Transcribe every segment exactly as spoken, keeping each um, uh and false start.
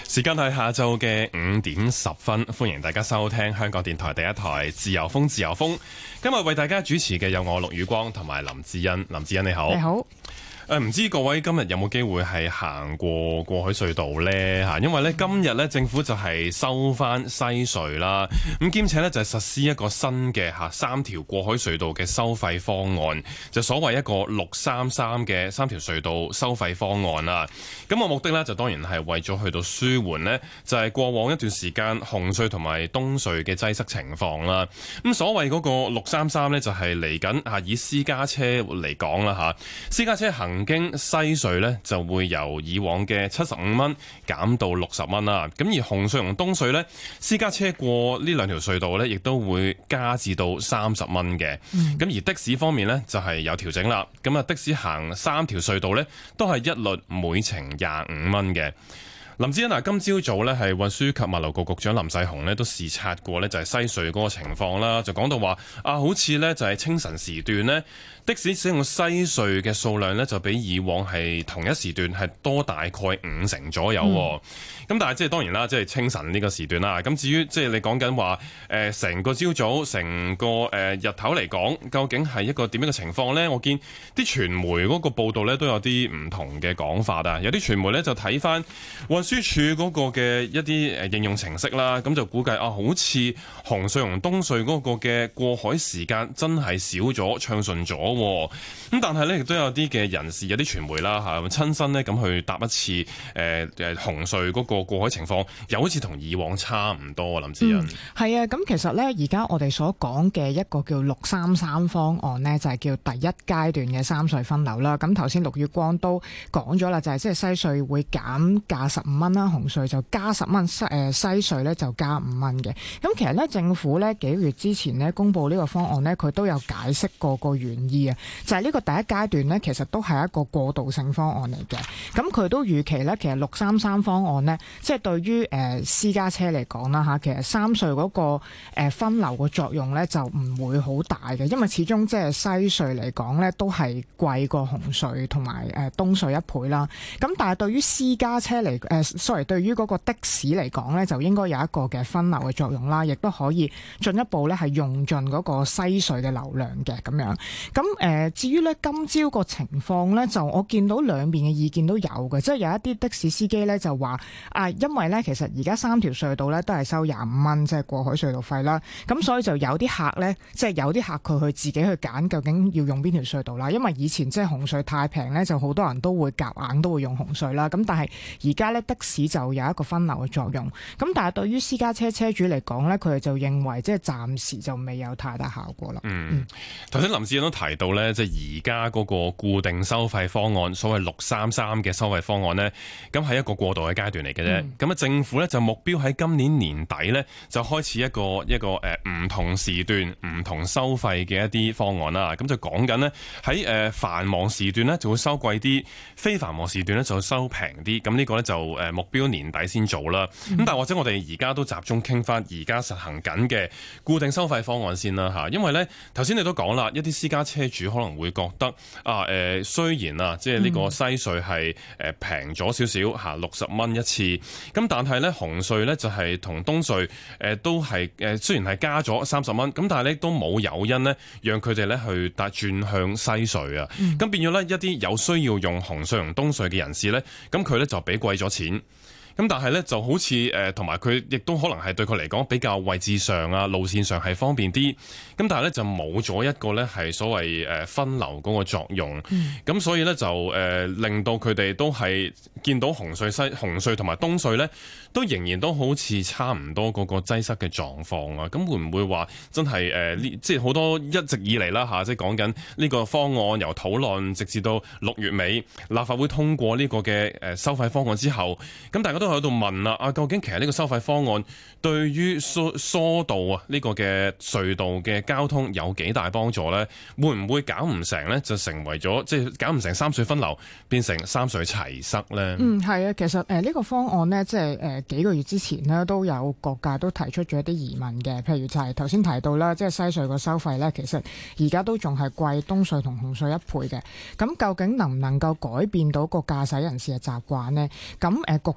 時間係下晝嘅五點十分，歡迎大家收聽香港電台第一台自由風自由風。今日為大家主持嘅有我陸宇光同埋林志恩。林志恩你好。 你好。 誒，唔知各位今日有冇機會係行過過海隧道呢？嚇，因為咧今日咧政府就係收翻西隧啦，咁兼且咧就係實施一個新嘅嚇三條過海隧道嘅收費方案，就所謂一個六三三嘅三條隧道收費方案啦。咁個目的咧就當然係為咗去到舒緩呢，就係過往一段時間紅隧同埋東隧嘅擠塞情況啦。咁所謂嗰個六三三咧就係嚟緊嚇以私家車嚟講啦嚇，私家車行經西隧呢就會由以往嘅七十五蚊減到六十蚊啦。咁而紅隧同東隧呢，私家車過呢兩條隧道呢，亦都會加至到三十蚊嘅。咁、嗯、而的士方面呢，就係有調整啦。咁啊的士行三條隧道呢，都係一律每程廿五蚊嘅。林志恩嗱，今朝早咧係運輸及物流局局長林世雄咧都視察過咧，就係西隧嗰個情況啦，就講到話啊，好似咧就係清晨時段咧的士使用西隧嘅數量咧就比以往係同一時段係多大概五成左右。咁、嗯、但係即係當然啦，即係清晨呢個時段啦。咁至於即係你講緊話誒成個朝早成個誒日頭嚟講，究竟係一個點樣嘅情況咧？我見啲傳媒嗰個報道咧都有啲唔同嘅講法啊。有啲傳媒咧就睇翻運輸署嗰個嘅一啲誒應用程式啦，咁就估計啊，好似紅隧同東隧嗰個嘅過海時間真係少咗，暢順咗。咁但係咧，亦都有啲嘅人士，有啲傳媒啦嚇，親身咧咁去搭一次誒誒紅隧嗰個過海情況，又好似同以往差唔多。林志恩係啊，咁其實咧，而家我哋所講嘅一個叫六三三方案呢，就係叫第一階段嘅三隧分流啦。咁頭先陸宇光都講咗啦，就係即係西隧會減價十五蚊啦，紅隧就加十蚊，西誒西隧咧就加五蚊嘅。咁其實咧，政府咧幾個月之前咧公布呢個方案咧，佢都有解釋過個原意啊，就係呢個第一階段咧，其實都係一個過渡性方案嚟嘅。咁佢都預期咧，其實六三三方案咧，即係對於誒私家車嚟講啦嚇，其實三隧嗰個誒分流嘅作用咧就唔會好大嘅，因為始終即係西隧嚟講咧都係貴過紅隧同埋誒東隧一倍啦。咁但係對於私家車嚟誒 sorry 對於嗰個的士嚟講咧，就應該有一個嘅分流嘅作用啦，亦都可以進一步咧係用盡嗰個西隧嘅流量嘅咁樣。咁誒、呃、至於咧今朝個情況咧，就我見到兩邊嘅意見都有嘅，即係有一啲的士司機咧就話啊，因為咧其實而家三條隧道咧都係收廿五蚊，即係過海隧道費啦。咁所以就有啲客咧，即係有啲客佢去自己去揀究竟要用邊條隧道啦。因為以前即係紅隧太平咧，就好多人都會夾硬都會用紅隧啦。咁但係而家咧的士就有一個分流嘅作用。咁但係對於私家車車主嚟講咧，佢哋就認為即係暫時就未有太大效果啦。 嗯，頭先林志恩都提到咧，即係而家嗰個固定收費方案，所謂六三三嘅收費方案呢，咁係一個過渡嘅階段嚟嘅啫。咁啊、嗯，政府咧就目標喺今年年底咧就開始一個一個誒唔同時段唔同收費嘅一啲方案啦。咁就講緊呢，喺誒繁忙時段咧就會收貴啲，非繁忙時段咧就收平啲。咁呢個咧就誒目標年底先做啦。咁、嗯、但係或者我哋而家都集中傾翻而家實行緊嘅固定收費方案先啦嚇。因為咧頭先你都講啦，一啲私家車主可能會覺得啊誒、呃，雖然啊即係呢個西隧係誒平咗少少嚇，六十蚊一次。咁但係咧紅隧咧就係同東隧誒、呃、都係誒、呃、雖然係加咗三十蚊，咁但係咧都冇誘因咧讓佢哋咧去搭轉向西隧啊。咁、嗯、變咗咧一啲有需要用紅隧同東隧嘅人士咧，咁佢咧就俾貴咗錢。咁但係咧就好似誒同埋佢亦都可能係對佢嚟講比較位置上啊路線上係方便啲，咁但係咧就冇咗一個咧係所謂誒分流嗰個作用，咁、嗯、所以咧就誒、呃、令到佢哋都係見到紅隧西紅隧同埋東隧咧都仍然都好似差唔多嗰個擠塞嘅狀況啊。咁會唔會話真係誒呢即係好多一直以嚟啦嚇，即係講緊呢個方案由討論直至到六月尾立法會通過呢個嘅誒收費方案之後，咁大家都喺度問啦，啊究竟其實呢個收費方案對於疏疏導啊呢個嘅隧道嘅交通有幾大幫助呢？會唔會搞唔成呢？就成為咗即係搞唔成三隧分流，變成三隧齊塞呢？嗯， 係啊，其實誒呢個方案呢，即係誒幾個月之前呢，都有各界都提出咗一啲疑問嘅，譬如就係頭先提到啦，即係西隧個收費呢，其實而家都仲係貴東隧同紅隧一倍嘅。咁究竟能唔能夠改變到個駕駛人士嘅習慣呢？咁誒局長呢，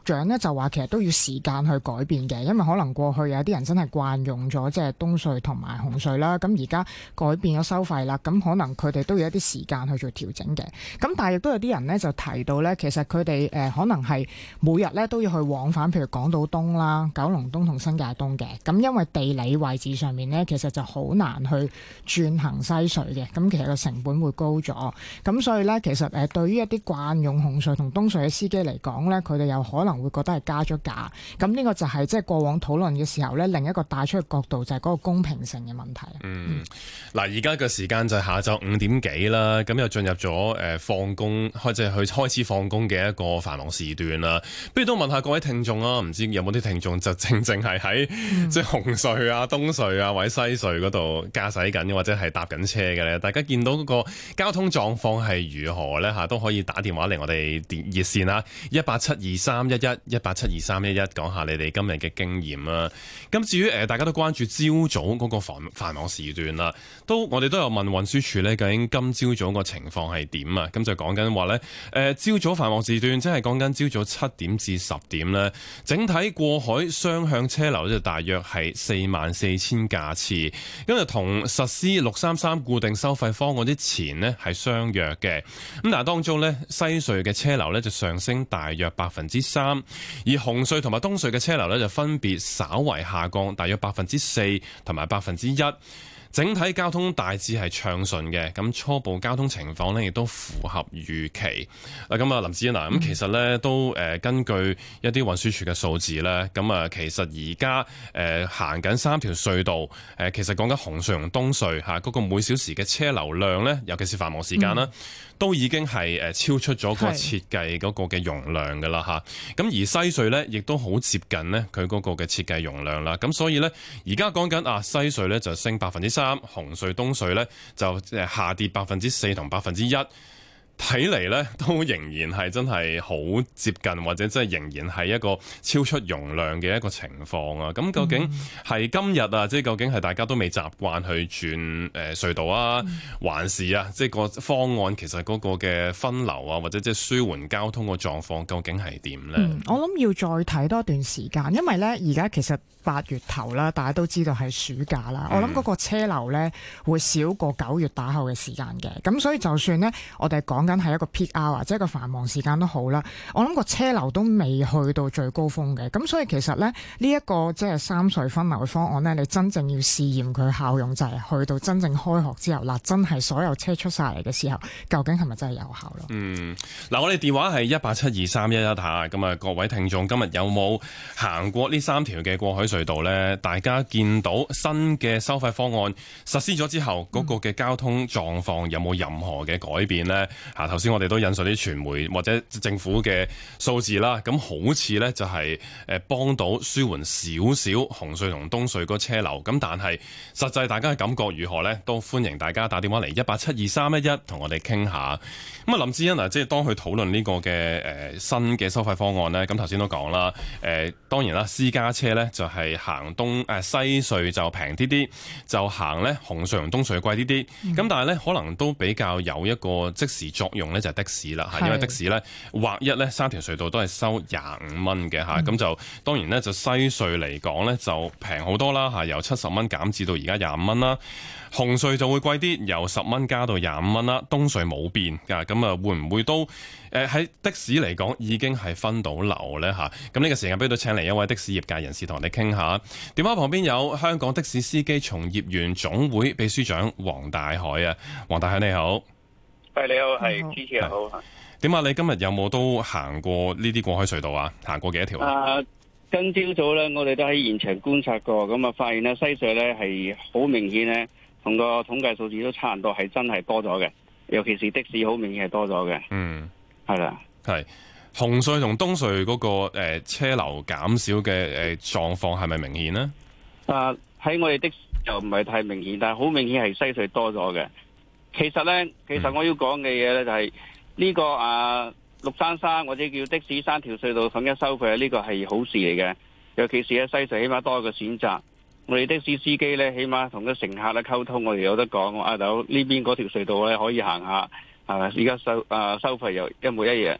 就話其實都要時間去改變嘅，因為可能過去有啲人真係慣用咗即係東隧同埋紅隧啦，咁而家改變咗收費啦，咁可能佢哋都要一啲時間去做調整嘅。咁但係亦都有啲人呢就提到呢，其實佢哋誒可能係每日呢都要去往返，譬如港島東啦、九龍東同新界東嘅。咁因為地理位置上面呢，其實就好難去轉行西隧嘅，咁其實個成本會高咗。咁所以呢，其實誒對於一啲慣用紅隧同東隧嘅司機嚟講呢，佢哋有可能會覺得係加咗價。咁呢個就係即係過往討論嘅時候呢，另一個帶出嘅角度就係嗰個公平性嘅問題。 嗯，嗱，而家嘅時間就係下晝五點幾啦，咁又進入咗誒放工，開即係去開始放工嘅一個繁忙時段啦。不如都問下各位聽眾啊，唔知有冇啲聽眾就正正係喺、嗯、即係紅隧啊、東隧啊或者西隧嗰度駕駛緊，或者係搭緊車嘅咧？大家見到嗰個交通狀況係如何咧？嚇，都可以打電話嚟我哋電熱線啦，一八七二三一一一八七二三一一，講下你哋今日嘅經驗啦。咁至於誒大家都關注朝早嗰個繁繁忙時段啦，都我哋都有問運輸署咧，究竟今朝早個情況係點啊？咁就講緊話咧，誒朝早繁忙時段，即係講緊朝早七點至十點咧，整體過海雙向車流就大約係四萬四千架次，咁就同實施六三三固定收費方案之前呢係相若嘅。咁但係當中咧，西隧嘅車流咧就上升大約百分之三，而紅隧同埋東隧嘅車流咧就分別稍為下降大約百分之四同埋百分之一。整體交通大致係暢順嘅，咁初步交通情況呢亦都符合預期。嗱，咁啊林子欣嗱，咁其實呢都誒根據一啲運輸署嘅數字呢，咁啊其實而家誒行緊三條隧道，誒其實講緊紅隧同東隧嚇嗰個每小時嘅車流量呢，尤其是繁忙時間啦，嗯、都已經係誒超出咗個設計嗰個嘅容量㗎啦嚇。咁而西隧呢，亦都好接近呢佢嗰個嘅設計容量啦。咁所以呢，而家講緊啊西隧呢就升百分之三。紅隧東隧咧就誒下跌百分之四同百分之一，睇嚟咧都仍然係真係好接近，或者真係仍然係一個超出容量嘅一個情況啊！咁究竟係今日啊，即係究竟係大家都未習慣去轉誒隧道啊，還是啊，即係個方案其實嗰個嘅分流啊，或者即係舒緩交通個狀況，究竟係點咧？ 嗯，我諗要再睇多一段時間，因為咧而家其實八月頭啦，大家都知道係暑假啦。嗯、我諗嗰個車流咧會少過九月打後嘅時間嘅，咁所以就算呢，我哋講緊係一個 peak hour 或者一個繁忙時間都好啦，我諗個車流都未去到最高峰嘅，咁所以其實咧呢一、這個即係三隧分流嘅方案呢，你真正要試驗佢效用就係去到真正開學之後，嗱真係所有車出晒嚟嘅時候，究竟係咪真係有效咯？嗯， 嗱我哋電話係一八七二三一一嚇，咁啊各位聽眾今日有冇行過呢三條嘅過海隧道呢？大家見到新嘅收費方案實施咗之後，嗰、那個嘅交通狀況有冇任何嘅改變呢？嚇、嗯，頭先我哋都引述啲傳媒或者政府嘅數字啦，咁好似呢就係誒幫到舒緩少少紅隧同東隧嗰車流，咁但係實際大家嘅感覺如何呢？都歡迎大家打電話嚟一八七二三一一同我哋傾下。咁啊林志欣啊，即係當佢討論呢個嘅誒新嘅收費方案呢，咁頭先都講啦，誒當然啦，私家車呢就係、是。係行東誒西隧就平啲啲，就行咧紅隧同東隧貴啲啲。咁、嗯、但係咧可能都比較有一個即時作用咧，就係的士啦。係因為的士咧劃一咧三條隧道都係收廿五蚊嘅嚇，咁、嗯、就當然咧就西隧嚟講咧就平好多啦嚇，由七十蚊減至到而家廿五蚊啦。紅隧就會貴啲，由十蚊加到廿五蚊啦。東隧冇變㗎，咁啊會唔會都誒喺的士嚟講已經係分到流咧嚇？咁呢個時間俾到請嚟一位的士業界人士同我哋傾下。電話旁邊有香港的士司機從業員總會秘書長黃大海啊，黃大海你好。 喂，你好，係主持人好。 點啊？你今日有冇都行過呢啲過海隧道啊？行過幾多條啊？ 啊，今朝早咧，我哋都喺現場觀察過，咁啊發現咧西隧咧係好明顯咧。同個統計數字都差唔多，係真係多咗嘅，尤其是的士好明顯係多咗嘅。嗯，係啦， 係紅隧同東隧嗰、那個誒、呃、車流減少嘅誒狀況係咪明顯呢？ 啊，喺我哋的士就唔係太明顯，但係好明顯係西隧多咗嘅。其實咧，其實我要講嘅嘢咧就係、是、呢、這個啊六三三或者叫的士三條隧道統一收費，呢、這個係好事嚟嘅，尤其是喺西隧起碼多一個選擇。我哋的士司機咧，起碼同個乘客咧溝通，我哋有得講。阿豆呢邊嗰條隧道咧可以行下，係咪？而家收啊收費又一模一樣，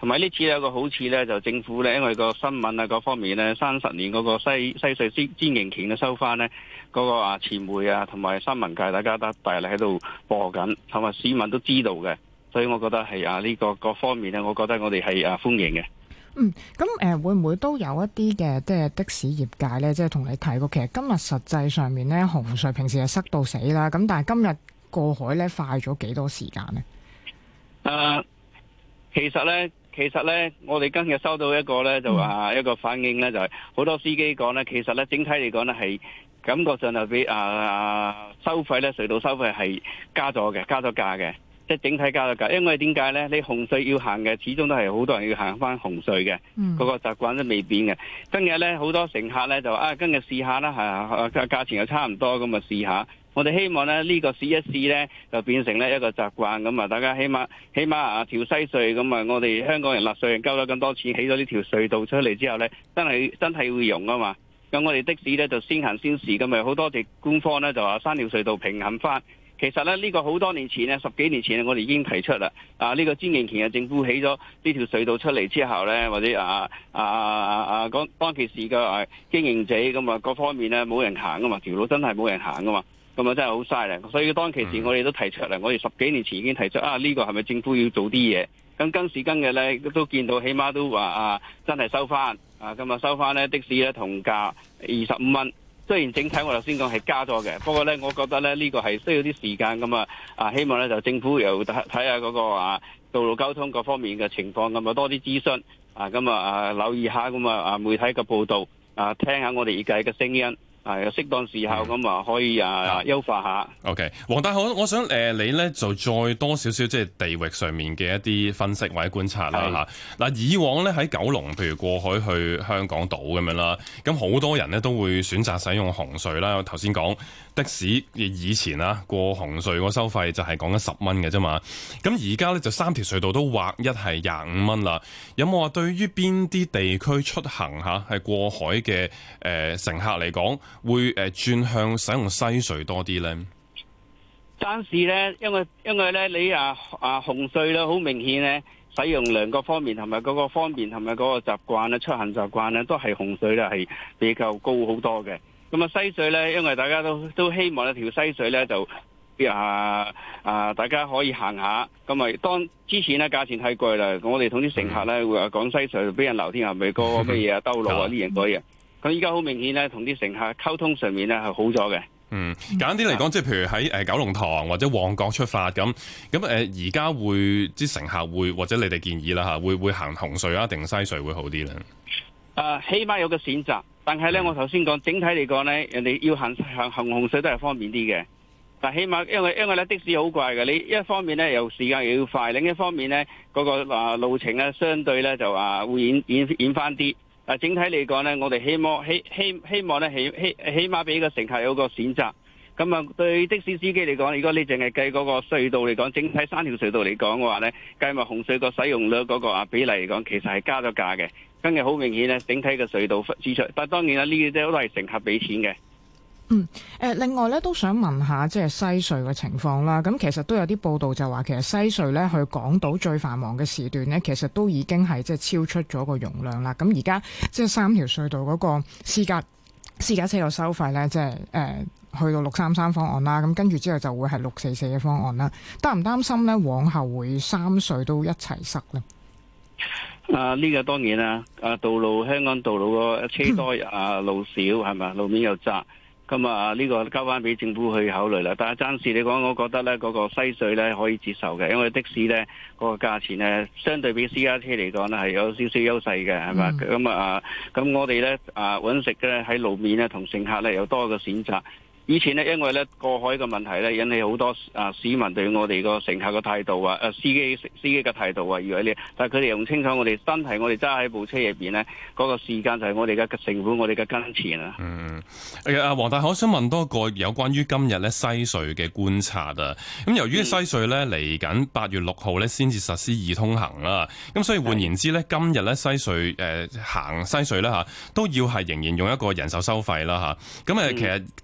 同埋呢次有個好處咧，就政府咧，因為個新聞啊各方面咧，三十年嗰個西西隧先專營權嘅收翻咧，嗰、那個啊傳媒啊同埋新聞界大家都大力喺度播緊，同埋市民都知道嘅，所以我覺得係啊呢、這個各方面咧，我覺得我哋係啊歡迎嘅。 嗯，咁誒、呃、會唔會都有一啲嘅即係的士業界咧，即係同你提過，其實今日實際上面咧，紅隧平時係塞到死啦，咁但係今日過海咧快咗幾多時間呢？誒、 呃，其實咧。其實咧，我哋今日收到一個咧，就話一個反應咧，就係、是、好多司機講咧，其實咧整體嚟講咧，係感覺上就比啊啊收費咧隧道收費係加咗嘅，加咗價嘅，即係整體加咗價。因為點解咧？你紅隧要行嘅，始終都係好多人要行翻紅隧嘅，嗰、嗯、個習慣都未變嘅。今日咧好多乘客咧就啊，今日試下啦，係啊價錢又差唔多，咁啊試下。我哋希望咧呢、這個試一試咧，就變成咧一個習慣咁啊！大家起碼起碼啊條西隧咁啊，我哋香港人納稅人交咗咁多錢，起咗呢條隧道出嚟之後咧，真係真係會用啊嘛！咁我哋的士咧就先行先試咁啊，好多謝官方咧就話三條隧道平衡翻。其實咧呢、這個好多年前咧，十幾年前我哋已經提出啦。啊呢、這個專營權嘅政府起咗呢條隧道出嚟之後咧，或者啊啊啊啊當當其時嘅啊經營者咁啊各方面咧冇人行噶嘛，條路真係冇人行噶嘛。咁啊真係好嘥咧，所以當其時我哋都提出嚟，我哋十幾年前已經提出啊，呢、這個係咪政府要做啲嘢？咁今時今日咧都見到，起碼都話啊，真係收翻啊，咁啊收翻咧的士咧同價二十五蚊。雖然整體我頭先講係加咗嘅，不過咧我覺得咧呢、這個係需要啲時間咁啊啊，希望咧就政府又睇睇下嗰個啊道路交通各方面嘅情況，咁啊多啲諮詢啊，咁啊啊留意下咁啊啊媒體嘅報導啊，聽下我哋業界嘅聲音。係適當時候咁啊，可以啊優化下。 OK， 黃大豪，我想誒、呃、你咧就再多少少即係地域上面嘅一啲分析或者觀察啦嚇。嗱，以往咧喺九龍，譬如過海去香港島咁樣啦，咁好多人咧都會選擇使用紅隧啦。我頭先講的士以前啊過紅隧個收費就係講緊十蚊嘅啫嘛。咁而家咧就三條隧道都劃一係廿五蚊啦。有冇話對於邊啲地區出行嚇係過海嘅誒、呃、乘客嚟講？會誒轉向使用西隧多啲咧？ 暫時咧，因為因為咧，你啊啊紅隧咧，好明顯咧，使用量各方面同埋嗰個方便同埋嗰個習慣咧，出行習慣咧，都係紅隧咧係比較高好多嘅。咁啊西隧咧，因為大家都都希望一條西隧咧就啊啊大家可以行下。咁啊當之前咧價錢太貴啦，我哋同啲乘客咧會話講西隧俾人鬧天下咪個乜嘢啊兜路啊呢樣嗰嘢。咁依家好明顯咧，同啲乘客溝通上面咧係好咗嘅。嗯， 簡單啲嚟講，即係譬如喺誒九龍塘或者旺角出發咁，咁誒而家會啲乘客會或者你哋建議啦嚇，會會行紅隧啊定西隧會好啲咧？ 誒，起碼有個選擇，但係咧，我頭先講整體嚟講咧，人哋要行行行紅隧都係方便啲嘅。但起碼因為因為咧的士好貴嘅，你一方面咧又時間又要快，另一方面咧嗰個啊路程咧相對咧就啊會遠遠遠翻啲。啊，整體嚟講咧，我哋希望希希希望咧，起起起碼俾個乘客有個選擇。咁啊，對的士司機嚟講，如果你淨係計嗰個隧道嚟講，整體三條隧道嚟講嘅話咧，計埋紅隧個使用率嗰個啊比例嚟講，其實係加咗價嘅。今日好明顯咧，整體嘅隧道支出，但當然啦，呢啲都係乘客俾錢嘅。 嗯，誒，另外咧都想問下即係西隧嘅情況啦。咁其實都有啲報道就話，其實西隧咧去港島最繁忙嘅時段咧，其實都已經係即係超出咗個容量啦。咁而家即係三條隧道嗰個私家私家車嘅收費咧，即係誒去到六三三方案啦。咁跟住之後就會係六四四嘅方案啦。擔唔擔心咧往後會三隧都一齊塞咧？ 啊，呢、這個當然啦。啊，道路香港道路個車多啊，路少係咪？路面又窄。咁啊，呢個交翻俾政府去考慮啦。但係暫時嚟講，我覺得咧嗰個西隧咧可以接受嘅，因為的士咧嗰個價錢咧相對比私家車嚟講咧係有少少優勢嘅，係嘛？咁啊，咁我哋咧啊揾食咧喺路面咧同乘客咧有多個選擇。以前呢，因為咧過海嘅問題咧，引起好多啊市民對我哋個乘客嘅態度啊，誒司機司機嘅態度啊，以為呢，但係佢哋又唔清楚我哋真係我哋揸喺部車入邊呢，嗰、那個時間就係我哋嘅成本，我哋嘅金錢啊。 嗯，誒阿黃大豪，我想問多個有關於今日咧西隧嘅觀察啊。咁由於西隧咧嚟緊八月六號咧先至實施易通行啦，咁所以換言之咧，今日咧西隧誒、呃、行西隧咧嚇都要係仍然用一個人手收費啦嚇。咁誒其實就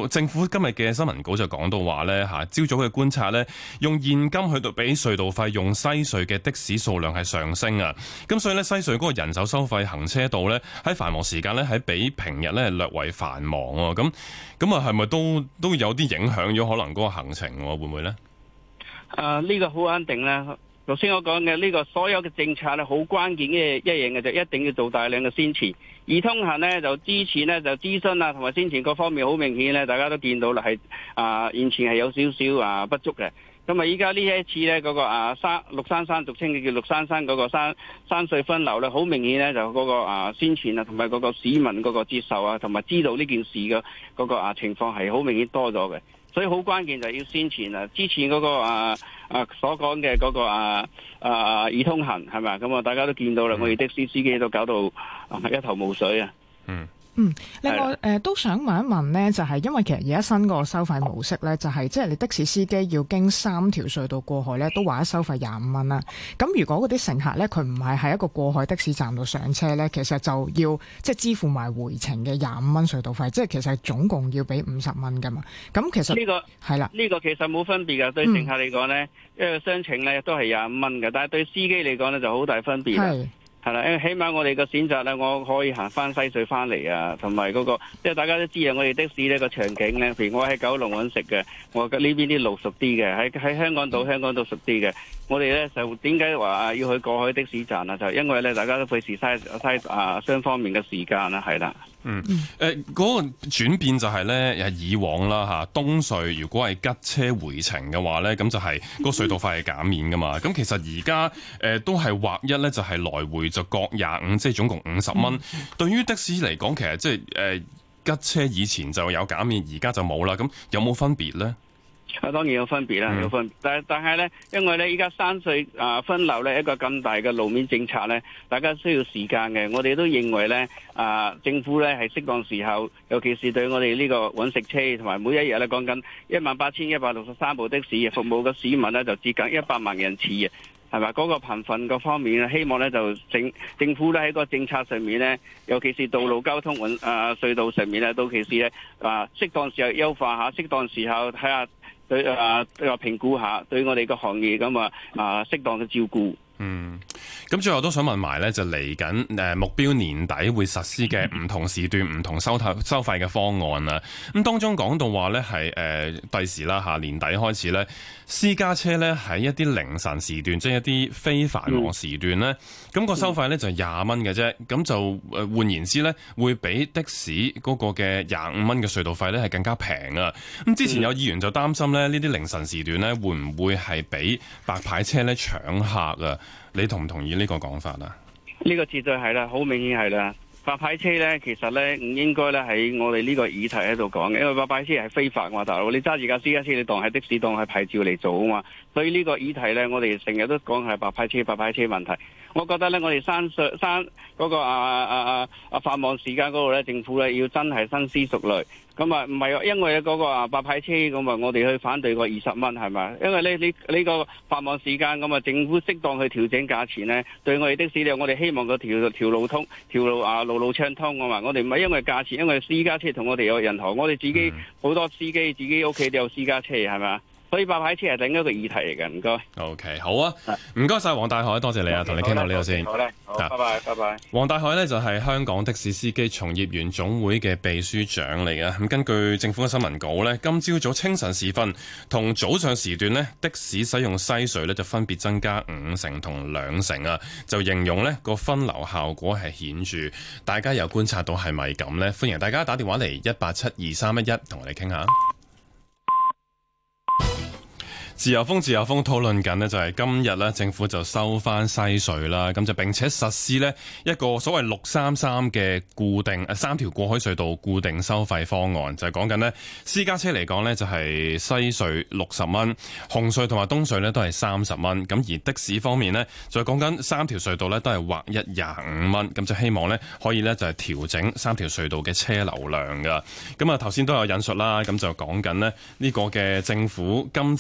政府今日嘅新聞稿就講到話咧嚇，朝早嘅觀察咧，用現金去到俾隧道費用西隧嘅的士數量係上升啊，咁所以咧西隧嗰個人手收費行車道咧喺繁忙時間咧喺比平日咧略為繁忙喎，咁咁啊係咪都都有啲影響咗可能嗰個行程喎？會唔會咧？ 啊，呢個好肯定啦。頭先我講嘅呢個所有嘅政策咧，好關鍵嘅一樣嘅就一定要做大量嘅宣傳。易通行呢，就之前呢，就諮詢啊同埋宣傳各方面好明顯咧，大家都見到啦，係啊現前係有少少啊不足嘅。咁啊依家呢一次呢，嗰個啊山六三三俗稱嘅叫六三三嗰個山山隧分流咧，好明顯呢，就嗰個啊宣傳啊同埋嗰個市民嗰個接受啊同埋知道呢件事嘅嗰個啊情況係好明顯多咗嘅。所以好關鍵就係要宣傳啊！之前嗰個啊啊所講嘅嗰個啊啊易通行係咪？咁啊大家都見到啦，我哋的士司機都搞到一頭霧水啊！嗯。 嗯，另外誒、呃、都想問一問呢，就係、是、因為其實而家新個收費模式呢，就係即係你的士司機要經三條隧道過海呢，都話一收費廿五蚊啦。咁如果嗰啲乘客呢，佢唔係喺一個過海的士站度上車呢，其實就要即係支付埋回程嘅廿五蚊隧道費，即係其實總共要俾五十蚊噶嘛。咁其實呢、這個係啦，呢個其實冇分別噶，對乘客嚟講呢，因為雙程呢都係廿五蚊嘅，但係對司機嚟講呢，就好大分別啦。係啦，因為起碼我哋個選擇咧，我可以行翻西隧翻嚟啊，同埋嗰個，即係大家都知啊，我哋的士呢個場景咧，譬如我喺九龍揾食嘅，我呢邊啲路熟啲嘅，喺喺香港島香港島熟啲嘅，我哋咧就點解話要去過海的士站啊？就因為咧，大家都費事嘥嘥啊雙方面嘅時間啦，係啦。 嗯，誒、呃、嗰、那個轉變就係咧，誒以往啦嚇，東隧如果係吉車回程嘅話咧，咁就係個隧道費係減免噶嘛。咁其實而家誒都係劃一咧，就係來回就各廿五，即係總共五十蚊。對於的士嚟講，其實即係誒吉車以前就有減免，而家就冇啦。咁有冇分別咧？ 啊，當然有分別啦，有分別。但但係咧，因為咧，依家山隧啊分流咧一個咁大嘅路面政策咧，大家需要時間嘅。我哋都認為咧，啊政府咧係適當時候，尤其是對我哋呢個揾食車同埋每一日咧講緊一萬八千一百六十三部的士服務嘅市民咧，就接近一百萬人次啊，係咪？嗰個貧困嗰方面咧，希望咧就政政府咧喺個政策上面咧，尤其是道路交通運啊隧道上面咧，到其時咧啊適當時候優化下，適當時候睇下。對啊，話評估下對我哋個行業咁啊啊適當嘅照顧。 嗯，咁最後都想問埋咧，就嚟緊誒目標年底會實施嘅唔同時段唔同收收費嘅方案啦。咁當中講到話咧係誒第時啦嚇年底開始咧，私家車咧喺一啲凌晨時段，即係一啲非繁忙時段咧，咁、嗯個收費咧就廿蚊嘅啫。咁就誒換言之咧，會比的士嗰個嘅廿五蚊嘅隧道費咧係更加平啊。咁之前有議員就擔心咧，呢啲凌晨時段咧會唔會係俾白牌車咧搶客啊？你同唔同意呢個講法啊？ 呢個絕對係啦，好明顯係啦。白牌車咧，其實咧唔應該咧喺我哋呢個議題喺度講嘅，因為白牌車係非法嘛，大佬。你揸住架私家車，你當係的士，當係牌照嚟做啊嘛。所以呢個議題咧，我哋成日都講係白牌車、白牌車問題。我覺得咧，我哋山上山嗰個啊啊啊啊繁忙時間嗰度咧，政府咧要真係深思熟慮。咁啊，唔係因為嗰個啊白牌車咁啊，我哋去反對個二十蚊係咪？因為呢呢呢個繁忙時間咁啊，政府適當去調整價錢咧，對我哋的士咧，我哋希望個條條路通，條路啊路路暢通啊嘛。我哋唔係因為價錢，因為私家車同我哋有人行，我哋自己好多司機自己屋企都有私家車係咪？所以白牌車係另一個議題嚟嘅，唔該。 OK， 好啊，唔該晒黃大海，多謝你啊，同你傾到呢度先。 好咧，好，拜拜，拜拜。 黃大海呢就係香港的士司機從業員總會嘅秘書長嚟嘅。咁根據政府嘅新聞稿呢，今朝早清晨時分同早上時段呢，的士使用西隧呢就分別增加五成同兩成啊，就形容呢個分流效果係顯著。大家有觀察到係咪咁呢？歡迎大家打電話嚟一八七二三一一同我哋傾下。自由風自由風討論緊呢就係今日呢政府就收翻西隧啦，咁就並且實施呢一個所謂六三三嘅固定誒三條過海隧道固定收費方案，就係講緊呢私家車嚟講呢就係西隧六十蚊，紅隧同埋東隧呢都係三十蚊，咁而的士方面呢，就講緊三條隧道呢都係劃一廿五蚊，咁就希望呢可以呢就係調整三條隧道嘅車流量噶。咁啊頭先都有引述啦，咁就講緊呢呢個嘅政府今朝早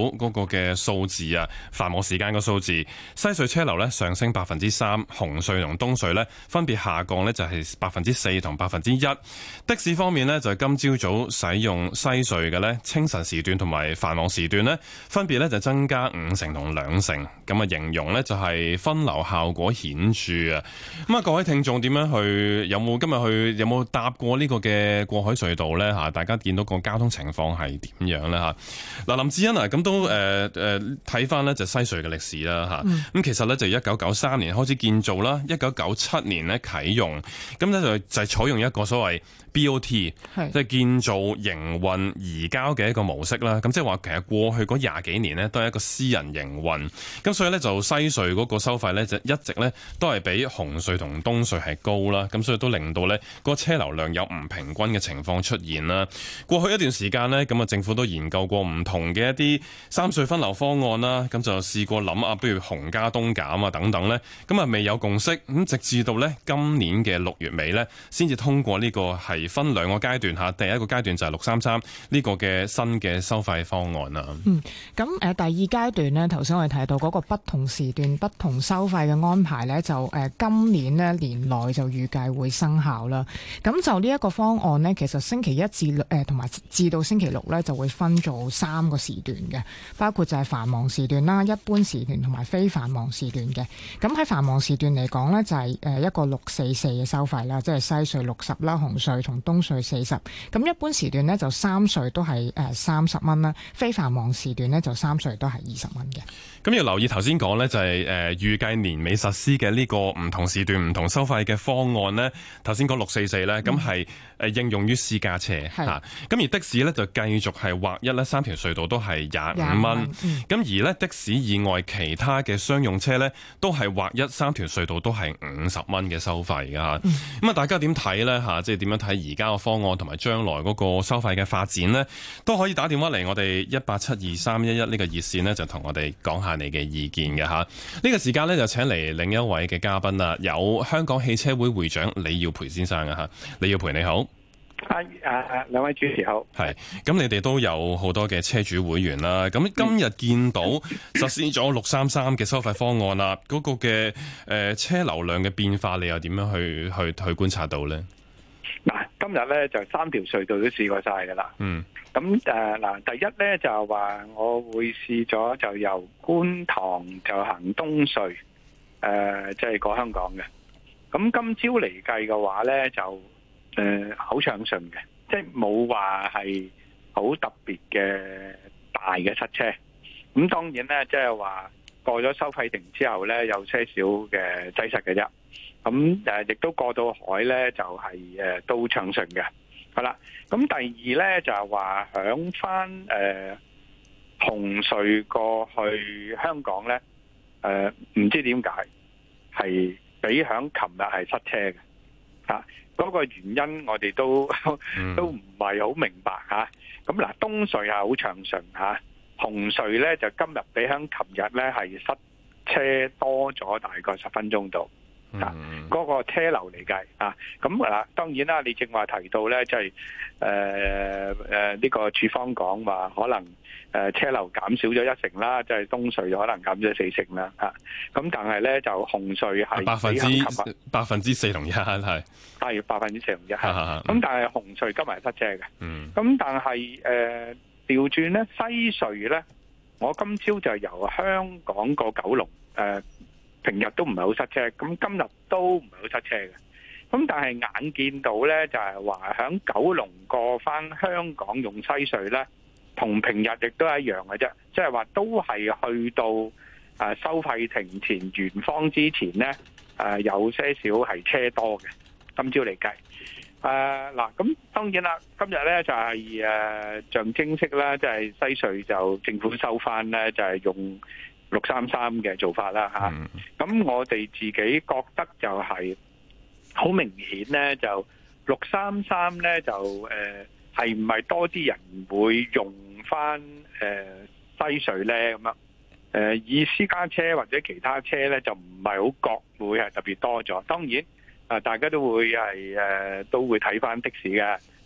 嗰個嘅數字啊，繁忙時間個數字，西隧車流咧上升百分之三，紅隧同東隧咧分別下降咧就係百分之四同百分之一。的士方面咧就係今朝早使用西隧嘅咧清晨時段同埋繁忙時段咧，分別咧就增加五成同兩成，咁啊形容咧就係分流效果顯著啊！咁啊，各位聽眾點樣去？有冇今日去？有冇搭過呢個嘅過海隧道咧？吓，大家見到個交通情況係點樣咧？吓，嗱，林志欣啊，咁都誒誒睇翻咧就西隧嘅歷史啦，吓、嗯，咁其實咧就一九九三年開始建造啦，一九九七年咧啟用，咁咧就就係採用一個所謂 B O T， 即係建造、營運、移交嘅一個模式啦。咁即係話其實過去嗰廿幾年呢，都係一個私人營運，咁所以咧就西隧嗰個收費咧就一直咧都係比紅隧同東隧係高啦。咁所以都令到咧個車流量有唔平均嘅情況出現啦。過去一段時間呢，咁啊政府都研究過唔同嘅一啲三隧分流方案啦。咁就試過諗啊，不如紅加東減啊等等咧，咁啊未有共識。咁直至到咧今年嘅六月尾咧，先至通過呢個係分兩個階段嚇，第一個階段就係六三三呢個嘅新嘅收費方案啦。 嗯，咁誒第二階段呢，頭先我哋提到嗰個不同時段不同收費嘅安排呢，就誒今年呢年內就預計會生效啦。咁就呢一個方案呢，其實星期一至誒同埋至到星期六呢，就會分做三個時段嘅，包括就係繁忙時段啦、一般時段同埋非繁忙時段嘅。咁喺繁忙時段嚟講呢，就係誒一個六四四嘅收費啦，即係西隧六十啦，紅隧同東隧四十。咁一般時段呢，就三隧都係誒三十蚊啦，非繁忙時段呢，就三隧都係二十蚊嘅。 咁要留意頭先講呢，就係誒預計年尾實施嘅呢個唔同時段唔同收費嘅方案呢。頭先講六四四呢，咁係誒應用於私家車嚇。咁而的士呢，就繼續係劃一呢三條隧道都係廿五蚊。咁、嗯、而呢，的士以外其他嘅商用車呢，都係劃一三條隧道都係五十蚊嘅收費㗎嚇。咁、嗯、啊，大家點睇呢？嚇？即係點樣睇而家個方案同埋將來嗰個收費嘅發展呢？都可以打電話嚟我哋一八七二三一一呢個熱線呢，就同我哋講下你嘅意見嘅嚇。呢、這個時間呢，就請嚟另一位嘅嘉賓啦，有香港汽車會會長李耀培先生啊嚇。李耀培你好。 啊啊兩位主持好。 係，咁你哋都有好多嘅車主會員啦。咁今日見到實施咗六三三嘅收費方案啦，嗰、那個嘅誒、呃、車流量嘅變化，你又點樣去去去觀察到呢？ 嗱，今日咧就三條隧道都試過晒噶啦。嗯。咁誒嗱，第一咧就係話我會試咗就由觀塘就行東隧，誒、呃，即、就、係、是、過香港嘅。咁今朝嚟計嘅話咧就誒好暢順嘅，即係冇話係好特別嘅大嘅塞車。咁當然咧，即係話過咗收費亭之後咧，有些少嘅擠塞嘅啫。咁誒，亦都過到海咧，就係、是、誒都暢順嘅。好啦，咁第二咧就係話響翻誒紅隧過去香港咧，誒、呃、唔知點解係比響琴日係塞車嘅嚇。嗰、啊那個原因我哋都都唔係好明白嚇。咁、啊、嗱，東隧係好暢順嚇，紅隧咧就今日比響琴日咧係塞車多咗大概十分鐘度。啊，嗰個車流嚟計啊，咁嗱，當然啦，你正話提到咧，即係誒誒呢個處方講話可能誒車流減少咗一成啦，即係東隧就可能減咗四成啦，嚇。咁但係咧就紅隧係百分之百分之四同一係係百分之四同一係。咁但係紅隧今日係塞車嘅。嗯。咁但係誒調轉咧，西隧咧，我今朝就由香港過九龍誒。平日都唔係好塞車，咁今日都唔係好塞車嘅。咁但係眼見到呢，就係話響九龍過返香港用西隧呢，同平日亦都係一樣嘅啫。即係話都係去到誒收費亭前圓方之前呢，誒有些少係車多嘅。今朝嚟計，誒嗱，咁當然啦，今日呢就係誒象徵式啦，即係西隧就政府收返呢，就係用六三三嘅做法啦吓，咁、嗯、我哋自己覺得就係好明顯咧，就六三三咧就誒係唔係多啲人會用翻誒、呃、西隧咧咁樣？誒、呃、以私家車或者其他車咧就唔係好覺會係特別多咗。當然啊、呃，大家都會係誒、呃、都會睇翻的士嘅。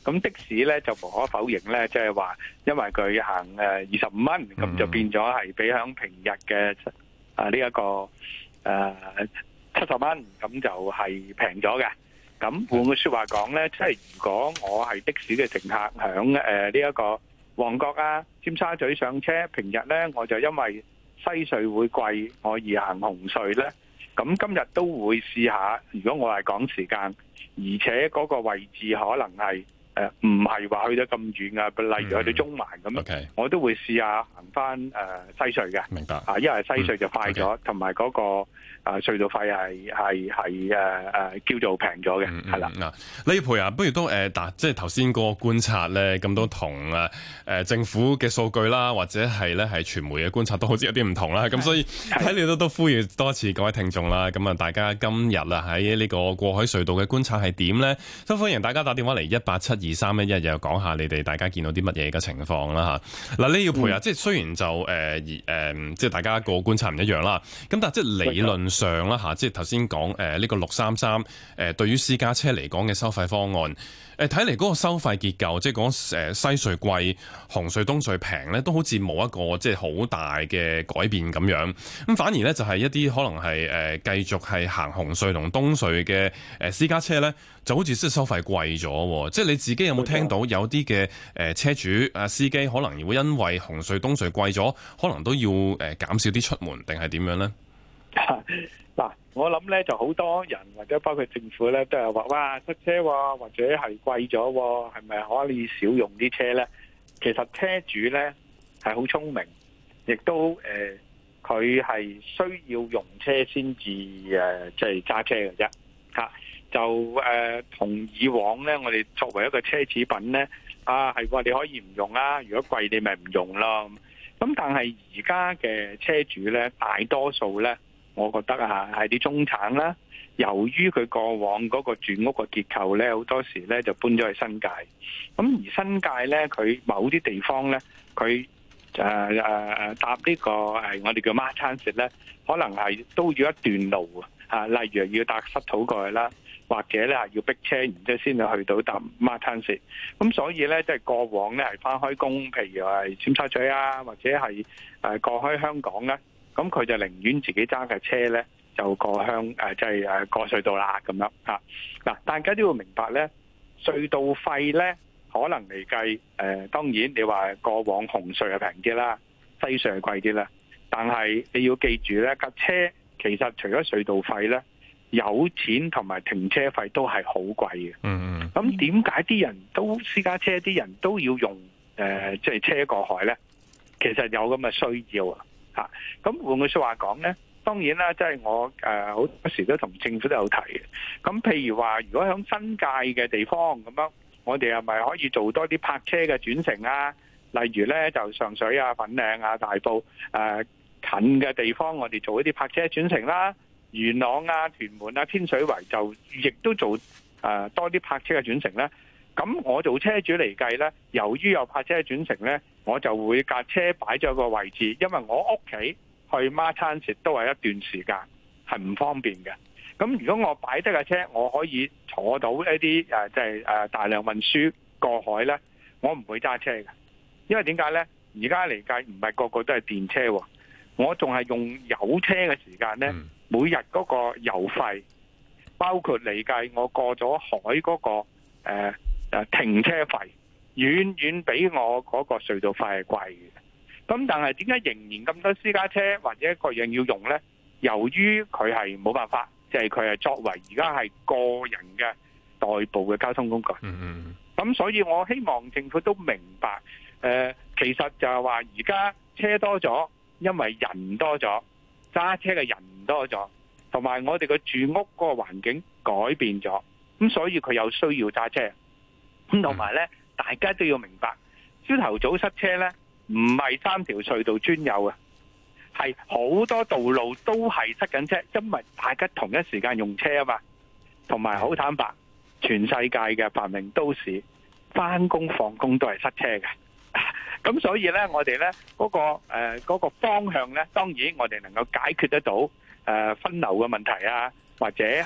咁的士咧就無可否認咧，即係話因為佢行誒二十五蚊，咁就變咗係比響平日嘅啊呢一個誒七十蚊，咁就係平咗嘅。咁換句説話講咧，即係如果我係的士嘅乘客響誒呢一個旺角啊、尖沙咀上車，平日咧我就因為西隧會貴，我而行紅隧咧，咁今日都會試下。如果我係趕時間，而且嗰個位置可能係誒唔係話去得咁遠啊，例如去到中環咁樣，嗯 okay. 我都會試下行翻誒西隧嘅。明白啊，因為西隧就快咗，同埋嗰個啊隧道費係係係誒誒叫做平咗嘅，係啦。 嗱，李耀培啊，不如都誒嗱，即係頭先嗰個觀察咧，咁都同誒誒政府嘅數據啦，或者係咧係傳媒嘅觀察都好似有啲唔同啦。咁所以喺你都都呼籲多次各位聽眾啦。咁啊，大家今日啊喺呢個過海隧道嘅觀察係點咧？都歡迎大家打電話嚟一八七二三一一，又講下你哋大家見到啲乜嘢嘅情況啦嚇。嗱，李耀培啊，即係雖然就誒誒、呃呃，即係大家個觀察唔一樣啦。咁但係即係理論上啦嚇，即係頭先講誒呢個六三三誒對於私家車嚟講嘅收費方案，誒睇嚟嗰個收費結構，即係講誒西隧貴、紅隧東隧平咧，都好似冇一個即係好大嘅改變咁樣。咁反而咧就係一啲可能係誒繼續係行紅隧同東隧嘅誒私家車咧，就好似即係收費貴咗。即係你自己有冇聽到有啲嘅誒車主啊司機可能會因為紅隧東隧貴咗，可能都要誒減少啲出門，定係點樣咧？ 嗱，我諗咧就好多人或者包括政府咧都係話哇塞車喎，或者係貴咗，係咪可以少用啲車咧？其實車主咧係好聰明，亦都誒佢係需要用車先至誒即係揸車嘅啫嚇。就誒同、呃、以往咧，我哋作為一個奢侈品咧，啊係話你可以唔用啦，如果貴你咪唔用咯。咁但係而家嘅車主咧，大多數咧，我覺得啊係啲中產啦。由於佢過往嗰個住屋個結構咧，好多時咧就搬咗去新界。咁而新界咧，佢某啲地方咧，佢誒誒搭呢個誒我哋叫馬餐食咧，可能係都要一段路啊，例如要搭塞土過去啦。或者咧係要逼車，然之後先至去到搭馬灘石。咁所以咧，即係過往咧係翻開工，譬如係尖沙咀啊，或者係誒過開香港咧，咁佢就寧願自己揸架車咧，就過香誒，即係誒過隧道啦咁樣嚇。嗱，大家都要明白咧，隧道費咧可能嚟計誒，當然你話過往紅隧係平啲啦，西隧係貴啲啦，但係你要記住咧，架車其實除咗隧道費咧，有錢同埋停車費都係好貴嘅。嗯，咁點解啲人都私家車啲人都要用誒即係車過海咧？其實有咁嘅需要啊！嚇，咁換句説話講咧，當然啦，即係我誒好多時都同政府都有提嘅。咁譬如話，如果喺新界嘅地方咁樣，我哋係咪可以做多啲泊車嘅轉乘啊？例如咧，就上水啊、粉嶺啊、大埔誒近嘅地方，我哋做一啲泊車轉乘啦。元朗啊、屯門啊、天水圍就亦都做誒、呃、多啲泊車嘅轉乘咧。咁我做車主嚟計咧，由於有泊車嘅轉乘咧，我就會架車擺咗個位置，因為我屋企去孖餐食都係一段時間，係唔方便嘅。咁如果我擺低架車，我可以坐到一啲誒即係誒大量運輸過海咧，我唔會揸車嘅，因為點解咧？而家嚟計唔係個個都係電車喎，我仲係用油車嘅時間咧。嗯每日嗰個油費，包括嚟計，我過咗海嗰、嗰個誒、呃、停車費，遠遠比我嗰個隧道費係貴嘅。咁但係點解仍然咁多私家車或者各樣要用呢？由於佢係冇辦法，即係佢係作為而家係個人嘅代步嘅交通工具。嗯嗯。咁所以我希望政府都明白，誒、呃，其實就係話而家車多咗，因為人多咗。揸車嘅人多咗，同埋我哋嘅住屋嗰個環境改變咗，咁所以佢有需要揸車。咁同埋咧，大家都要明白，朝頭早塞車咧，唔係三條隧道專有嘅，係好多道路都係塞緊車，因為大家同一時間用車啊嘛。同埋好坦白，全世界嘅繁榮都市，翻工放工都係塞車嘅。咁所以咧，我哋咧嗰個誒、呃嗰個方向咧，當然我哋能夠解決得到誒、呃、分流嘅問題啊，或者係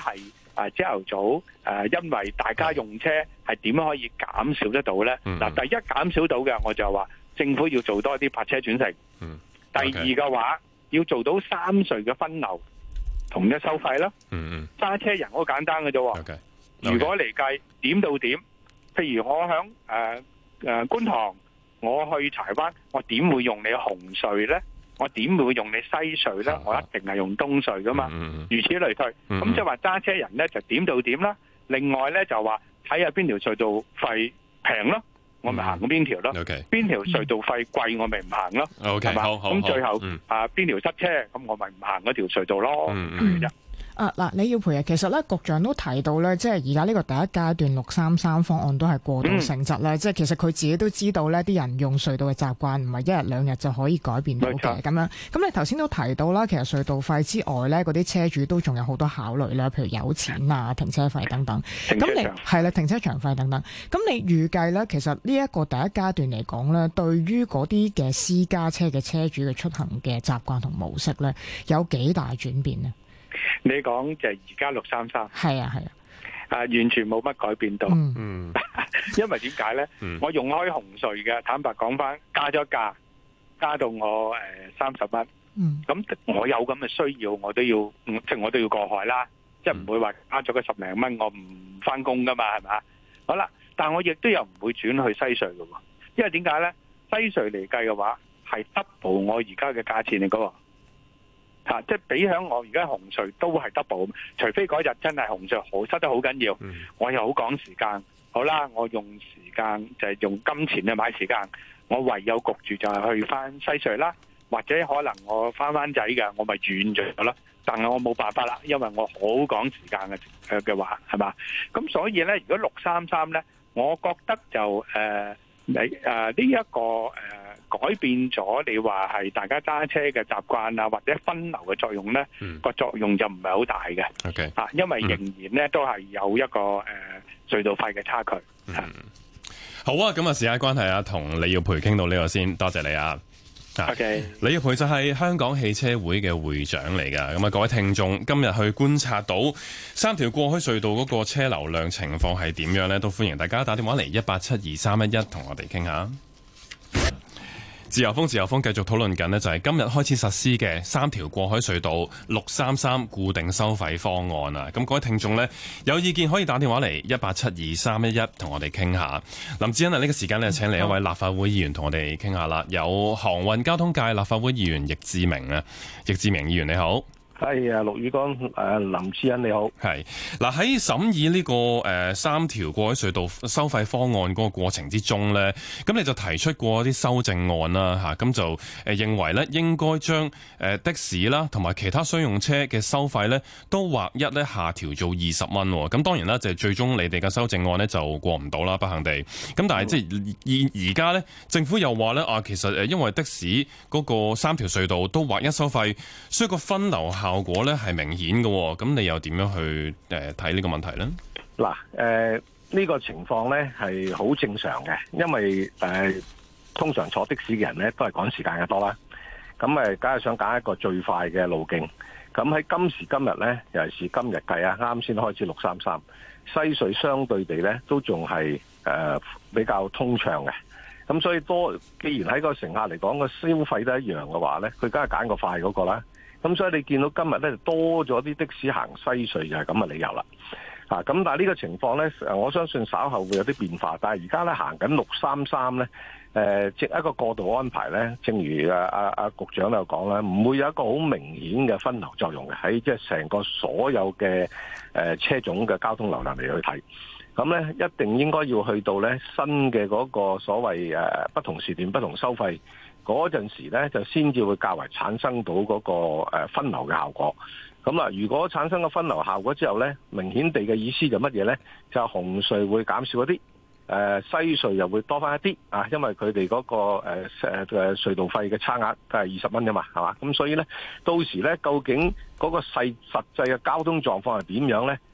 啊朝頭早誒、呃，因為大家用車係點樣可以減少得到咧？嗱、嗯，第一減少到嘅我就話政府要做多啲泊車轉乘。嗯。第二嘅話要做到三隧嘅分流同一收費啦。嗯嗯。揸車人好簡單嘅啫。 Okay. Okay. 如果嚟計點到點，譬如我響誒誒觀塘，我去柴灣，我點會用你紅隧咧？我點會用你西隧咧？我一定係用東隧噶嘛。嗯、如此類推。咁即係話揸車人咧就點到點啦。另外咧就話睇下邊條隧道費平咯，我咪行邊條咯。邊、okay. 條隧道費貴，我咪唔行咯。係、okay. 嘛？咁最後、嗯、啊邊條塞車，咁我咪唔行嗰條隧道咯。嗯嗯啊嗱，李耀培啊，其實咧，局長都提到咧，即係而家呢個第一階段六三三方案都係過渡性質咧、嗯，即係其實佢自己都知道呢啲人用隧道嘅習慣唔係一日兩日就可以改變到嘅咁樣。咁你頭先都提到啦，其實隧道費之外咧，嗰啲車主都仲有好多考慮啦，譬如有錢啊、停車費等等。咁你係啦，停車場費等等。咁你預計咧，其實呢一個第一階段嚟講咧，對於嗰啲嘅私家車嘅車主嘅出行嘅習慣同模式咧，有幾大轉變呢？ 你講就係而家六三三， 係啊係啊， 啊完全冇乜改變到，嗯，因為點解咧？我用開紅隧嘅，坦白講翻，加咗價，加到我誒三十蚊，嗯，咁我有咁嘅需要，我都要，即係我都要過海啦，即係唔會話加咗個十零蚊，我唔翻工噶嘛，係咪？好啦，但係我亦都又唔會轉去西隧噶，因為點解咧？西隧嚟計嘅話係 double 我而家嘅價錢嚟噶。吓、啊，即係比響我而家紅隧都係 double， 除非嗰日真係紅隧好塞得好緊要，嗯、我又好趕時間，好啦，我用時間就係、是、用金錢去買時間，我唯有焗住就係去翻西隧啦，或者可能我翻灣仔嘅，我咪轉咗啦，但係我冇辦法啦，因為我好趕時間嘅誒嘅話係嘛，咁所以咧，如果六三三咧，我覺得就誒你誒呢一個誒。呃改變咗你話係大家揸車嘅習慣啊，或者分流嘅作用咧，個、嗯、作用就唔係好大嘅。OK， 啊，因為仍然咧、嗯、都係有一個誒、呃、隧道費嘅差距。嗯， 好啊，咁啊時間關係啊，同李耀培傾到呢個先，多謝你啊。OK， 李耀培就係香港汽車會嘅會長嚟㗎。咁啊，各位聽眾今日去觀察到三條過海隧道嗰個車流量情況係點樣咧，都歡迎大家打電話嚟一八七二三一一同我哋傾下。自由風，自由風繼續討論緊呢，就係今日開始實施嘅三條過海隧道六三三固定收費方案啊！咁各位聽眾呢，有意見可以打電話嚟一八七二三一一同我哋傾下。林志恩啊，呢個時間呢，請嚟一位立法會議員同我哋傾下啦。有航運交通界立法會議員易志明啊，易志明議員你好。 係啊，陸宇光，誒，林志恩你好。係嗱，喺審議呢個誒、呃、三條過海隧道收費方案嗰個過程之中咧，咁你就提出過啲修正案啦，吓、啊，咁就誒認為咧應該將誒的士啦同埋其他商用車嘅收費咧都劃一咧下調做二十蚊。咁當然啦，就係最終你哋嘅修正案咧就過唔到啦，不幸地。咁但係即係而而家咧，政府又話咧啊，其實誒因為的士嗰個三條隧道都劃一收費，所以個分流效效果咧係明顯嘅，咁你又點樣去誒睇呢個問題咧？ 嗱，誒呢個情況咧係好正常嘅，因為誒、呃、通常坐的士嘅人咧都係趕時間嘅多啦，咁誒梗係想揀一個最快嘅路徑。咁喺今時今日咧，尤其是今日計啊，啱先開始六三三，西隧相對地咧都仲係誒比較通暢嘅。咁所以多，既然喺個乘客嚟講個消費都一樣嘅話咧，佢梗係揀個快嗰個啦。咁所以你見到今日咧多咗啲的士行西隧就係咁嘅理由啦，啊咁但係呢個情況咧，我相信稍後會有啲變化，但係而家咧行緊六三三咧，誒即一個過渡安排咧，正如啊啊啊局長都有講啦，唔會有一個好明顯嘅分流作用嘅，喺即係成個所有嘅誒車種嘅交通流量嚟去睇，咁咧一定應該要去到咧新嘅嗰個所謂誒不同時段不同收費。嗰陣時咧，就先至會較為產生到嗰個分流嘅效果。咁啊，如果產生個分流效果之後咧，明顯地嘅意思就乜嘢咧？就係紅隧會減少一啲，誒西隧又會多翻一啲啊，因為佢哋嗰個誒誒誒隧道費嘅差額都係二十蚊㗎嘛，係嘛？咁所以咧，到時咧，究竟嗰個細實際嘅交通狀況係點樣咧？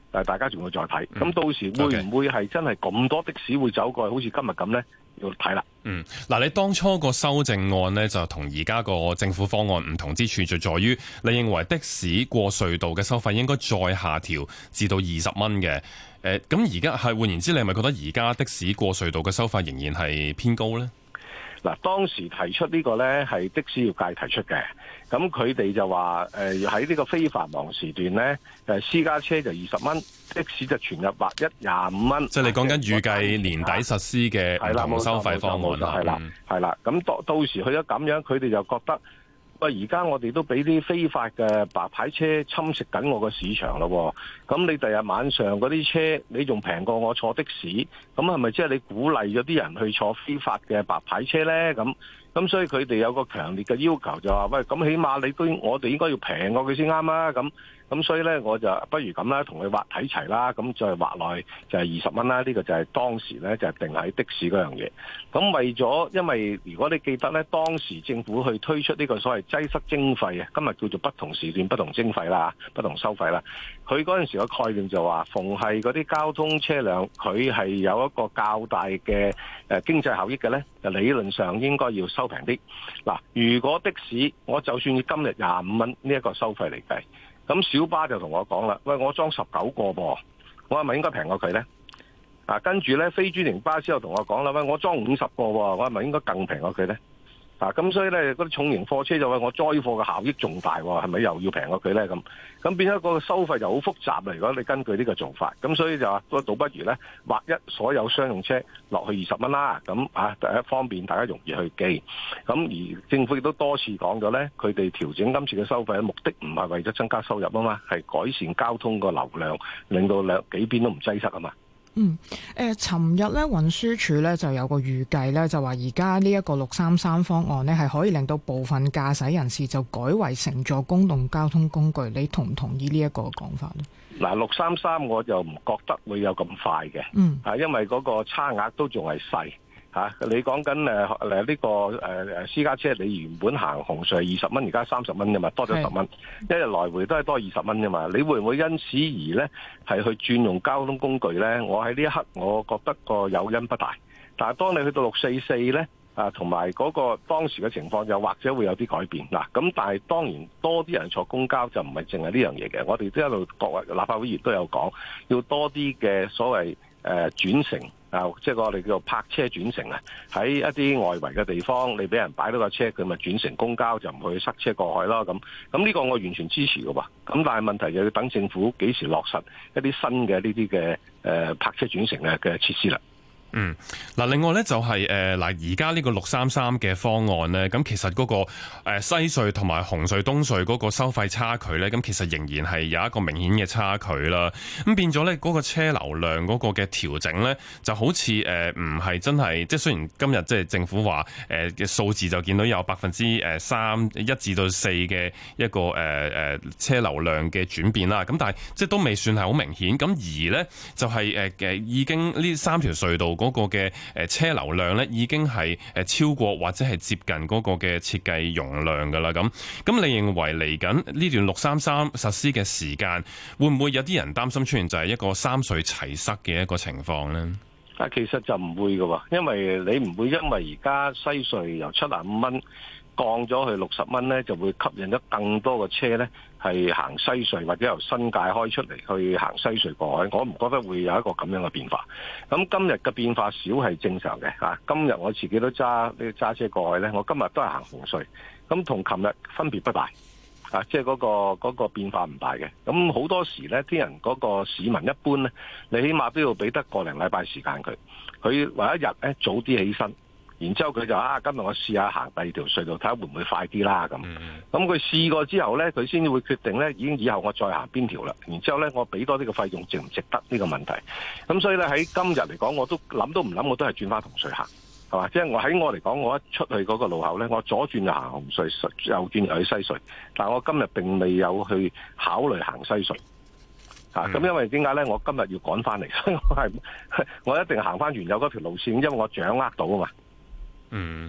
但係大家仲要再睇。咁、嗯、到時會唔會係真係咁多的士會走過去，好似今日咁咧？要睇啦。 嗯，嗱，你當初個修正案呢，就同而家個政府方案唔同之處，就在於你認為的士過隧道嘅收費應該再下調至到二十蚊嘅。誒，咁而家係換言之，你係咪覺得而家的士過隧道嘅收費仍然係偏高呢？ 嗱，當時提出呢個呢係的士業界提出嘅，咁佢哋就話誒喺呢個非繁忙時段呢，誒私家車就二十蚊，的士就全日劃一廿五蚊。即係你講緊預計年底實施嘅唔同收費方案啦。係啦，係啦，咁到到時去咗咁樣，佢哋就覺得喂，而家我哋都俾啲非法嘅白牌車侵蝕緊我個市場咯。咁你第日晚上嗰啲車，你仲平過我坐的士，咁係咪即係你鼓勵咗啲人去坐非法嘅白牌車呢？咁咁所以佢哋有個強烈嘅要求，就話喂，咁起碼你都我哋應該要平過佢先啱啊！咁咁所以呢，我就不如咁啦，同佢劃睇齊啦，咁再劃內就係二十蚊啦。呢個就係當時呢，就係定喺的士嗰樣嘢。咁為咗，因為如果你記得呢，當時政府去推出呢個所謂擠塞徵費啊，今日叫做不同時段不同徵費啦，不同收費啦。佢嗰陣時個概念就話，逢係嗰啲交通車輛，佢係有一個較大嘅誒經濟效益嘅呢，就理論上應該要收平啲。嗱，如果的士我就算今日廿五蚊呢一個收費嚟計，咁小巴就同我講啦，喂，我裝十九個噃，我係咪應該平過佢呢？啊，跟住呢，非專營巴士又同我講啦，喂，我裝五十個喎，我係咪應該更平過佢呢？啊，咁所以咧，嗰啲重型貨車就話我載貨嘅效益仲大喎，係咪又要平過佢咧？咁咁變咗個收費就好複雜啦。如果你根據呢個做法，咁所以就話都倒不如咧劃一所有商用車落去二十蚊啦。咁啊，第一方面大家容易去記。咁而政府亦都多次講咗咧，佢哋調整今次嘅收費嘅目的唔係為咗增加收入啊嘛，係改善交通個流量，令到兩幾邊都唔擠塞啊嘛。 嗯，誒、呃，尋日咧運輸署咧就有個預計咧，就話而家呢一個六三三方案呢，係可以令到部分駕駛人士就改為乘坐公共交通工具，你同唔同意呢一個講法呢？ 嗱，六三三我就唔覺得會有咁快嘅， 嗯， 啊，因為嗰個差額都仲係細。嚇、啊！你講緊誒誒呢個誒誒私家車，你原本行紅隧係二十蚊，而家三十蚊啫嘛，多咗十蚊，一日來回都係多二十蚊啫嘛。你會唔會因此而咧係去轉用交通工具咧？我喺呢一刻，我覺得個誘因不大。但係當你去到六四四咧，啊，同埋嗰個當時嘅情況，又或者會有啲改變嗱。咁但係當然多啲人坐公交就唔係淨係呢樣嘢嘅。我哋都一路各位立法會議員都有講，要多啲嘅所謂誒、呃、轉乘。啊，即係我哋叫做泊車轉乘啊！喺一啲外圍嘅地方，你俾人擺到個車，佢咪轉乘公交，就唔去塞車過海咯。咁咁呢個我完全支持嘅喎。咁但係問題就要等政府幾時落實一啲新嘅呢啲嘅誒泊車轉乘嘅嘅設施啦。 嗯，嗱，另外咧就係誒嗱，而家呢個六三三嘅方案咧，咁其實嗰個誒西隧同埋紅隧東隧嗰個收費差距咧，咁其實仍然係有一個明顯嘅差距啦。咁變咗咧，嗰個車流量嗰個嘅調整咧，就好似誒唔係真係，即係雖然今日即係政府話誒嘅數字就見到有百分之誒三一至到四嘅一個誒誒車流量嘅轉變啦。咁但係即係都未算係好明顯。咁而咧就係誒誒已經呢三條隧道嗰個嘅誒車流量咧，已經係誒超過或者係接近嗰個嘅設計容量噶啦。咁咁，你認為嚟緊呢段六三三實施嘅時間，會唔會有啲人擔心出現就係一個三隧齊塞嘅一個情況呢？ 啊，其實就唔會噶，因為你唔會因為而家西隧由七十五蚊降咗去六十蚊咧，就會吸引咗更多嘅車咧係行西隧或者由新界開出嚟去行西隧過海。我唔覺得會有一個咁樣嘅變化。咁今日嘅變化少係正常嘅嚇。今日我自己都揸呢揸車過海咧，我今日都係行紅隧，咁同琴日分別不大啊，即係嗰個嗰個變化唔大嘅。咁好多時咧，啲人嗰個市民一般咧，你起碼都要俾得個零禮拜時間佢，佢為一日咧早啲起身。然之後佢就啊，今日我試下行第二條隧道，睇下會唔會快啲啦咁。咁佢試過之後呢，佢先至會決定呢，已經以後我再行邊條啦。然之後呢，我俾多啲嘅費用值唔值得呢個問題。咁所以呢，喺今日嚟講，我都諗都唔諗，我都係轉翻紅隧行，係嘛？即係我喺我嚟講，我一出去嗰個路口呢，我左轉就行紅隧，右轉就去西隧。但係我今日並未有去考慮行西隧。啊，咁因為點解咧？我今日要趕翻嚟，所以我係我一定行翻原有嗰條路線，因為我掌握到啊嘛。 嗯，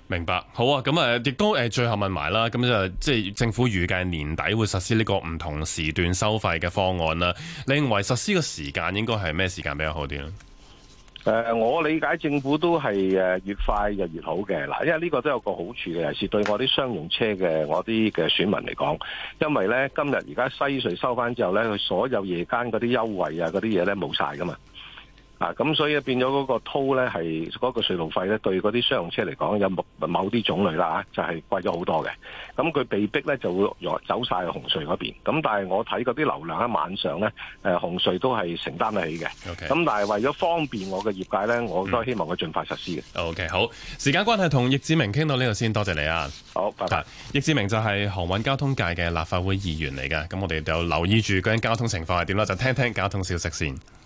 明白，好啊，咁誒，亦都誒，最後問埋啦，咁就即係政府預計年底會實施呢個唔同時段收費嘅方案啦。你認為實施嘅時間應該係咩時間比較好啲咧？ 誒、呃，我理解政府都係誒越快就越好嘅嗱，因為呢個都有個好處嘅，尤其是對我啲商用車嘅我啲嘅選民嚟講，因為咧今日而家西隧收翻之後咧，佢所有夜間嗰啲優惠啊嗰啲嘢咧冇晒噶嘛。啊，咁所以變咗嗰個 toll 咧係嗰個隧道費咧，對嗰啲商用車嚟講有某某啲種類啦就係、是、貴咗好多嘅。咁佢被逼咧就會走晒去紅隧嗰邊。咁但係我睇嗰啲流量喺晚上咧，誒紅隧都係承擔得起嘅。咁、okay. 但係為咗方便我嘅業界咧，我都希望佢盡快實施嘅。 OK， 好，時間關係同易志明傾到呢度先，多謝你啊。 好，拜拜。 易志明就係航運交通界嘅立法會議員嚟㗎。咁我哋就留意住究竟交通情況係點啦，就聽聽交通消息先。